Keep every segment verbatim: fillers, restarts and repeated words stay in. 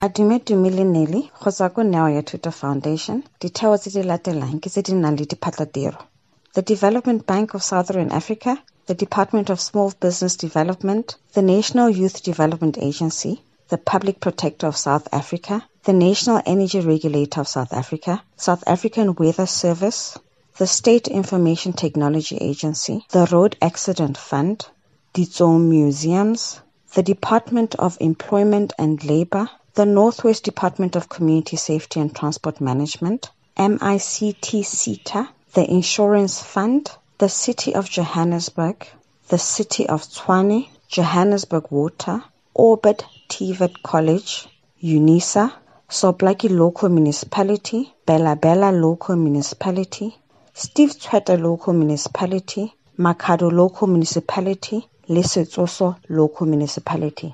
Adume Dumile Nelly, Khosako Neo ya Thuto Foundation, ditheo tse di latelang ke tse di nang le diphatlatiro. The Development Bank of Southern Africa, the Department of Small Business Development, the National Youth Development Agency, the Public Protector of South Africa, the National Energy Regulator of South Africa, South African Weather Service, the State Information Technology Agency, the Road Accident Fund, Ditso Museums, the Department of Employment and Labor, the Northwest Department of Community Safety and Transport Management, M I C T SETA, the Insurance Fund, the City of Johannesburg, the City of Tshwane, Johannesburg Water, Orbit T V E T College, UNISA, Soblaki Local Municipality, Bela Bela Local Municipality, Steve Tshwete Local Municipality, Makhado Local Municipality, le Setsoso Local Municipality.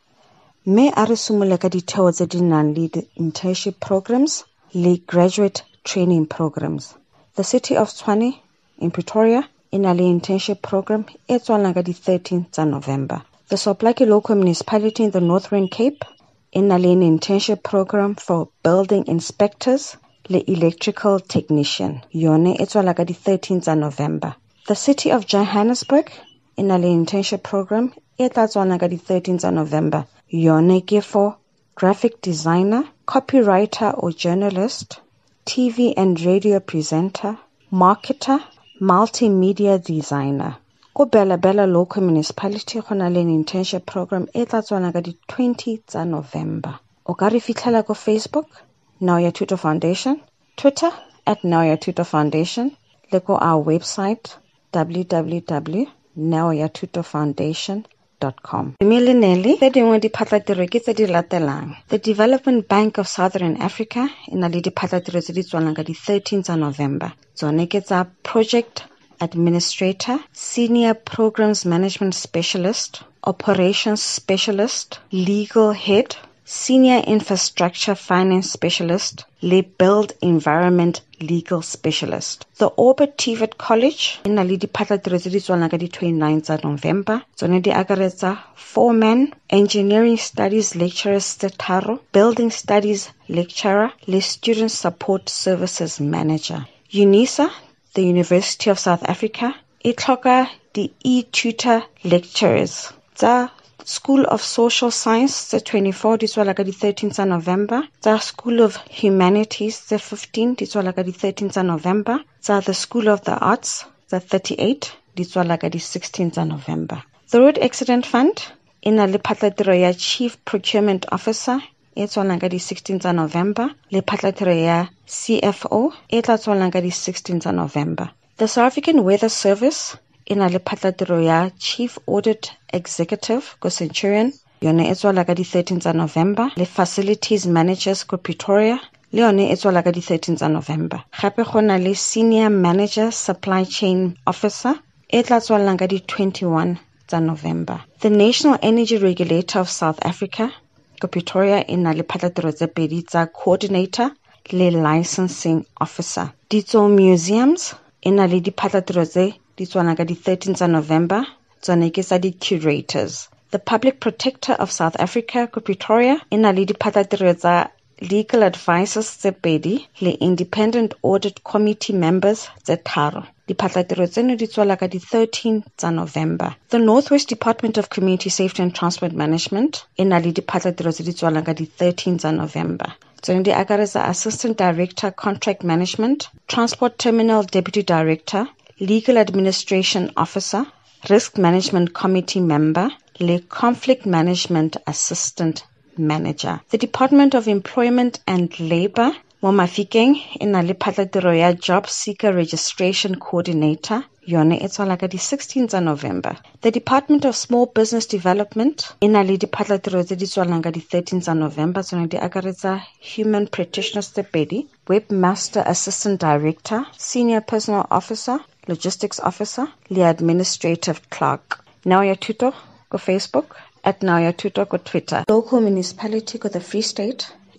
Mme a re simole ka ditheo tse di nang le internship programs le graduate training programs. The City of Tshwane in Pretoria e na le internship program e tswalang ka di thirteen tsa November. The Soblaki Local Municipality in the Northern Cape e na le an internship program for building inspectors le electrical technician. Yone e tswala ka di thirteen tsa November. The City of Johannesburg e na le internship program e tla tswalang ka di thirteen tsa November. Yone ke for graphic designer, copywriter or journalist, T V and radio presenter, marketer, multimedia designer. Ko Bela Bela Local Municipality go na le an internship program e tla tswalang ka di twenty tsa November. O ka re fitlhela ko Facebook, Neo ya Thuto Foundation, Twitter at Neo ya Thuto Foundation, le ko our website w w w dot neo ya thuto foundation dot com. Milinelli, tse dingwe diphatlatiro ke tse di latelang. The Development Bank of Southern Africa e na le diphatlatiro tse di tswalang ka di thirteen tsa November. Tsone ke tsa Project Administrator, Senior Programs Management Specialist, Operations Specialist, Legal Head, Senior Infrastructure Finance Specialist, le Build Environment Legal Specialist. The Orbit T V E T College e na le diphatlatiro tse di tswalang ka di twenty-nine tsa November. Tsone di akaretsa Foreman, Engineering Studies Lecturer tse tharo, Building Studies Lecturer, le Student Support Services Manager. UNISA, the University of South Africa, e tlhoka di e-tutor lecturers. Tsa School of Social Science, tse twenty-four, di tswala ka di thirteen tsa November. Tsa School of Humanities, tse fifteen, di tswala ka di thirteen tsa November. Tsa the School of the Arts, tse thirty-eight, di tswala ka di sixteen tsa November. The Road Accident Fund e na le phatlatiro ya Chief Procurement Officer e tswalang ka di sixteen tsa November, le phatlatiro ya C F O e tla tswalang ka di sixteen tsa November. The South African Weather Service e na le phatlatiro ya Chief Audit Executive ko Centurion, yone e tswala ka di thirteen tsa November, le Facilities Managers ko Pretoria, le yone e tswala ka di thirteen tsa November. Gape go na le Senior Manager Supply Chain Officer e tla tswalang ka di twenty-one tsa November. The National Energy Regulator of South Africa ko Pretoria e na le phatlatiro tse pedi tsa Coordinator le Licensing Officer. Ditso Museums e na le diphatlatiro tse di tswalang ka di thirteen tsa November, tsone ke tsa di Curators. The Public Protector of South Africa ko Pretoria e na le diphatlatiro tsa Legal Advisors tse pedi le Independent Audit Committee Members tse tharo. Diphatlatiro tseno di tswala ka di thirteen tsa November. The Northwest Department of Community Safety and Transport Management e na le diphatlatiro tse di tswalang ka di thirteen tsa November. Tsone di akaretsa Assistant Director Contract Management, Transport Terminal Deputy Director, Legal Administration Officer, Risk Management Committee Member, le Conflict Management Assistant Manager. The Department of Employment and Labor, mo Mafikeng e na le phatlatiro ya Job Seeker Registration Coordinator, yone e tswala ka di sixteen tsa November. The Department of Small Business Development e na le diphatlatiro tse di tswalang ka di thirteen tsa November, tsone di akaretsa Human Practitioners tse pedi, Webmaster Assistant Director, Senior Personal Officer, Logistics Officer, le Administrative Clerk. Neo ya Thuto ko Facebook, at Neo ya Thuto ko Twitter. Local Municipality ko the Free State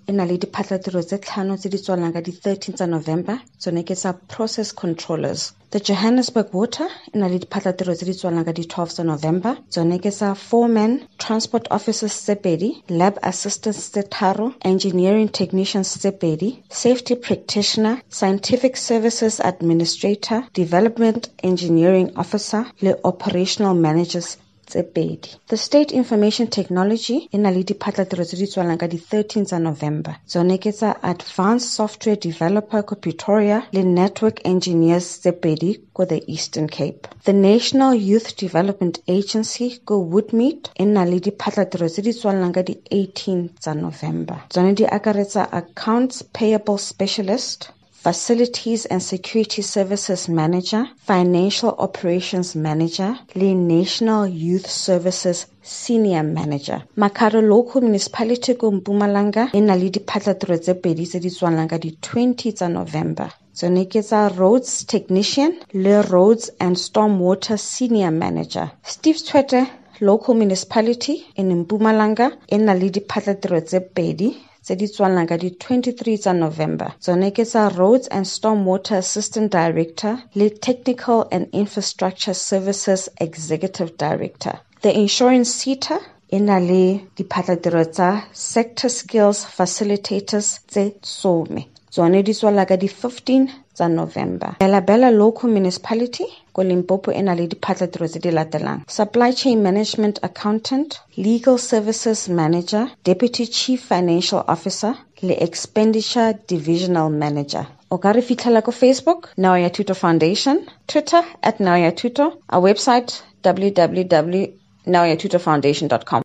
e na le diphatlatiro tse tlhano tse di tswalang ka di thirteenth tsa November, tsone ke tsa process controllers. The Johannesburg Water e na le diphatlatiro tse di tswalang ka di twelfth tsa November, tsone ke tsa foreman, transport officers tse pedi, lab assistants tse tharo, engineering technicians tse pedi, safety practitioner, scientific services administrator, development engineering officer le operational managers tse pedi. The State Information Technology e na le diphatlatiro tse di tswalang ka di thirteenth tsa November, tsone ke tsa advanced software developer ko Pretoria le network engineers tse pedi ko the Eastern Cape. The National Youth Development Agency ko Woodmead e na le diphatlatiro tse di tswalang ka di eighteenth tsa November, tsone di akaretsa accounts payable specialist, Facilities and Security Services Manager, Financial Operations Manager, le National Youth Services Senior Manager. Makhado Local Municipality ko Mpumalanga e na le diphatlatiro tse pedi tse di tswalang ka di twentieth tsa November. Tsone ke tsa Roads Technician le Roads and Stormwater Senior Manager. Steve Tshwete Local Municipality in Mpumalanga e na le diphatlatiro tse pedi tse di tswalang ka di twenty-three tsa November. Tsone ke tsa Roads and Stormwater Assistant Director le Technical and Infrastructure Services Executive Director. The Insurance SETA e na le diphatlatiro tsa Sector Skills Facilitators tse some. Tsone di tswala ka di fifteen tsa November. Bela Bela Local Municipality ko Limpopo e na le diphatlatiro tse di latelang: Supply Chain Management Accountant, Legal Services Manager, Deputy Chief Financial Officer le Expenditure Divisional Manager. O ka re fitlhela ko Facebook, Neo Ya Thuto Foundation, Twitter at Neo Ya Thuto, our website w w w dot neo ya thuto foundation dot com.